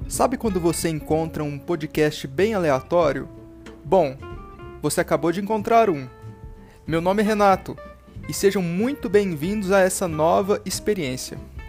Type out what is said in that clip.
Sabe quando você encontra um podcast bem aleatório? Bom, você acabou de encontrar um. Meu nome é Renato e sejam muito bem-vindos a essa nova experiência.